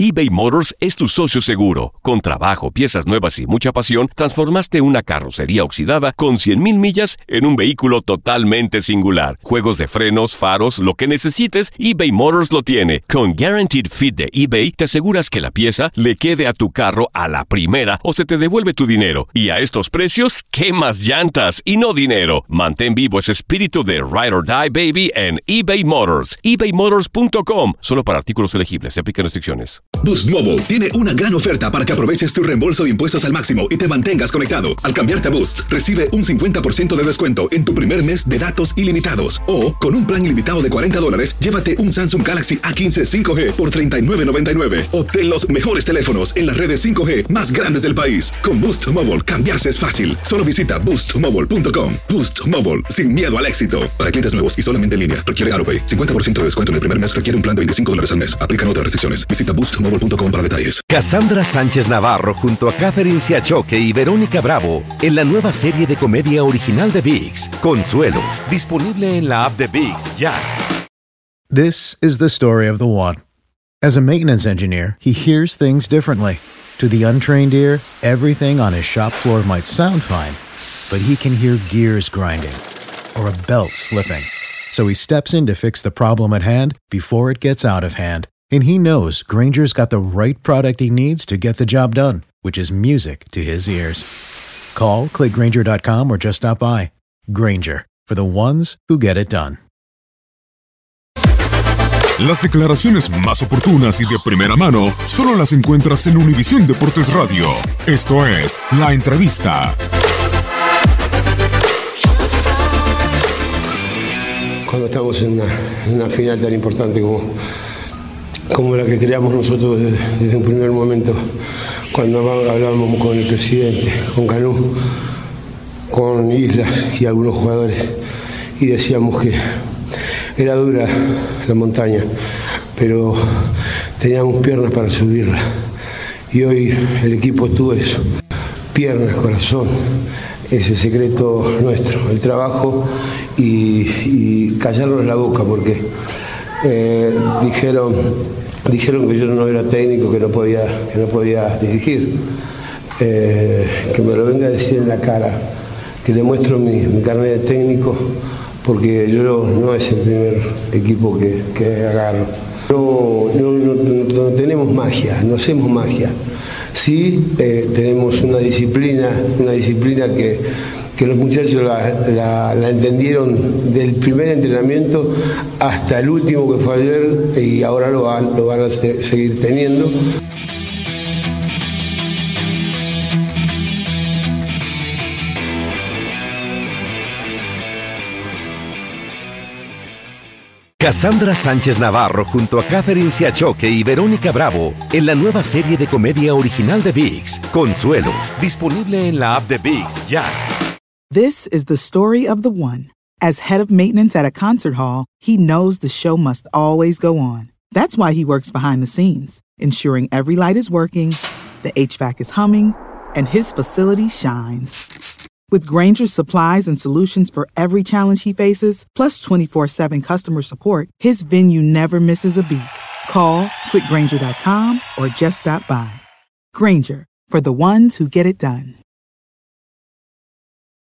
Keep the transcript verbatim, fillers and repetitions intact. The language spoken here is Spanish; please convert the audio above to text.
eBay Motors es tu socio seguro. Con trabajo, piezas nuevas y mucha pasión, transformaste una carrocería oxidada con cien mil millas en un vehículo totalmente singular. Juegos de frenos, faros, lo que necesites, eBay Motors lo tiene. Con Guaranteed Fit de eBay, te aseguras que la pieza le quede a tu carro a la primera o se te devuelve tu dinero. Y a estos precios, ¿qué más llantas y no dinero? Mantén vivo ese espíritu de Ride or Die, baby, en eBay Motors. ebay motors punto com. Solo para artículos elegibles. Se aplican restricciones. Boost Mobile tiene una gran oferta para que aproveches tu reembolso de impuestos al máximo y te mantengas conectado. Al cambiarte a Boost, recibe un cincuenta por ciento de descuento en tu primer mes de datos ilimitados. O, con un plan ilimitado de cuarenta dólares, llévate un Samsung Galaxy A quince cinco G por treinta y nueve noventa y nueve. Obtén los mejores teléfonos en las redes cinco G más grandes del país. Con Boost Mobile, cambiarse es fácil. Solo visita boost mobile punto com. Boost Mobile, sin miedo al éxito. Para clientes nuevos y solamente en línea, requiere AutoPay. cincuenta por ciento de descuento en el primer mes requiere un plan de veinticinco dólares al mes. Aplican otras restricciones. Visita boost mobile punto com para detalles. Cassandra Sánchez Navarro junto a Catherine Siachoque y Verónica Bravo en la nueva serie de comedia original de ViX, Consuelo, disponible en la app de ViX ya. This is the story of the one. As a maintenance engineer, he hears things differently. To the untrained ear, everything on his shop floor might sound fine, but he can hear gears grinding or a belt slipping. So he steps in to fix the problem at hand before it gets out of hand. And he knows Grainger's got the right product he needs to get the job done, which is music to his ears. Call, click Grainger dot com, or just stop by. Grainger, for the ones who get it done. Las declaraciones más oportunas y de primera mano solo las encuentras en Univisión Deportes Radio. Esto es La Entrevista. Cuando estamos en una, en una final tan importante como, como la que creamos nosotros desde, desde un primer momento, cuando hablábamos con el presidente, con Canú, con Islas y algunos jugadores, y decíamos que era dura la montaña, pero teníamos piernas para subirla. Y hoy el equipo tuvo eso, piernas, corazón, ese secreto nuestro, el trabajo y, y callarnos la boca, porque eh, dijeron, dijeron que yo no era técnico, que no podía, que no podía dirigir, eh, que me lo venga a decir en la cara, que le muestro mi, mi carnet de técnico, porque yo no es el primer equipo que, que agarro. No, no, no, no tenemos magia, no hacemos magia. Sí eh, tenemos una disciplina, una disciplina que, que los muchachos la, la, la entendieron del primer entrenamiento hasta el último que fue ayer, y ahora lo van, lo van a seguir teniendo. Cassandra Sánchez Navarro junto a Catherine Siachoque y Verónica Bravo en la nueva serie de comedia original de ViX, Consuelo, disponible en la app de ViX ya. This is the story of the one. As head of maintenance at a concert hall, he knows the show must always go on. That's why he works behind the scenes, ensuring every light is working, the H V A C is humming, and his facility shines. With Grainger's supplies and solutions for every challenge he faces, plus twenty-four seven customer support, his venue never misses a beat. Call, click Grainger dot com, or just stop by. Grainger, for the ones who get it done.